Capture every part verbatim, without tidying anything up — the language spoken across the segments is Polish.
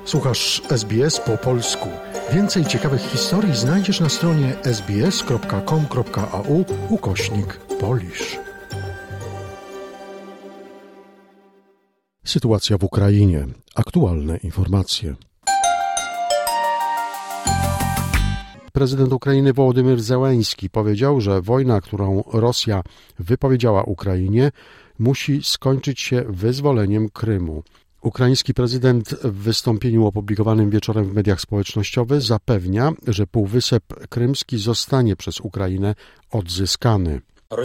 Słuchasz S B S po polsku. Więcej ciekawych historii znajdziesz na stronie sbs.com.au ukośnik Polish. Sytuacja w Ukrainie. Aktualne informacje. Prezydent Ukrainy Wołodymyr Zełenski powiedział, że wojna, którą Rosja wypowiedziała Ukrainie, musi skończyć się wyzwoleniem Krymu. Ukraiński prezydent w wystąpieniu opublikowanym wieczorem w mediach społecznościowych zapewnia, że Półwysep Krymski zostanie przez Ukrainę odzyskany.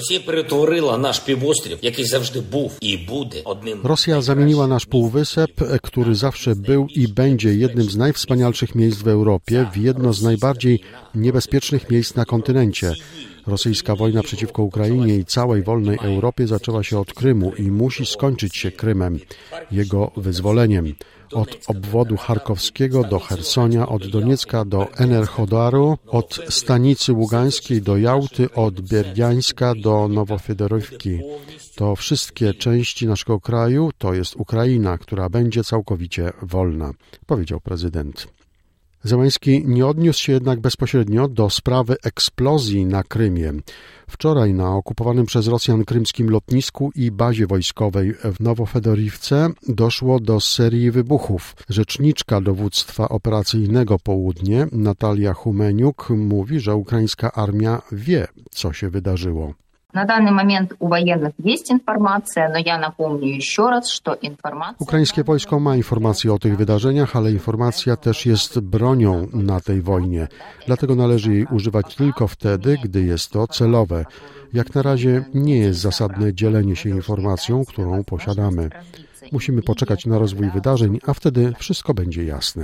Rosja zamieniła nasz półwysep, który zawsze był i będzie jednym z najwspanialszych miejsc w Europie, w jedno z najbardziej niebezpiecznych miejsc na kontynencie. Rosyjska wojna przeciwko Ukrainie i całej wolnej Europie zaczęła się od Krymu i musi skończyć się Krymem, jego wyzwoleniem. Od obwodu charkowskiego do Chersonia, od Doniecka do Enerhodaru, od stanicy Ługańskiej do Jałty, od Bierdiańska do Nowofedorywki. To wszystkie części naszego kraju, to jest Ukraina, która będzie całkowicie wolna, powiedział prezydent. Zełenski nie odniósł się jednak bezpośrednio do sprawy eksplozji na Krymie. Wczoraj na okupowanym przez Rosjan krymskim lotnisku i bazie wojskowej w Nowofedorywce doszło do serii wybuchów. Rzeczniczka dowództwa operacyjnego Południe, Natalia Humeniuk, mówi, że ukraińska armia wie, co się wydarzyło. Na dany moment u wojennych jest informacja, no ja napomnę jeszcze raz, że informacja... Ukraińskie wojsko ma informacje o tych wydarzeniach, ale informacja też jest bronią na tej wojnie. Dlatego należy jej używać tylko wtedy, gdy jest to celowe. Jak na razie nie jest zasadne dzielenie się informacją, którą posiadamy. Musimy poczekać na rozwój wydarzeń, a wtedy wszystko będzie jasne.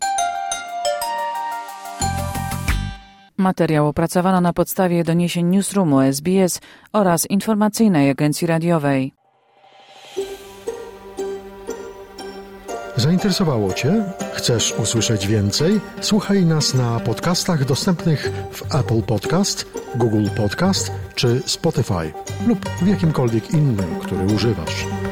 Materiał opracowano na podstawie doniesień Newsroomu S B S oraz informacyjnej agencji radiowej. Zainteresowało Cię? Chcesz usłyszeć więcej? Słuchaj nas na podcastach dostępnych w Apple Podcast, Google Podcast czy Spotify lub w jakimkolwiek innym, który używasz.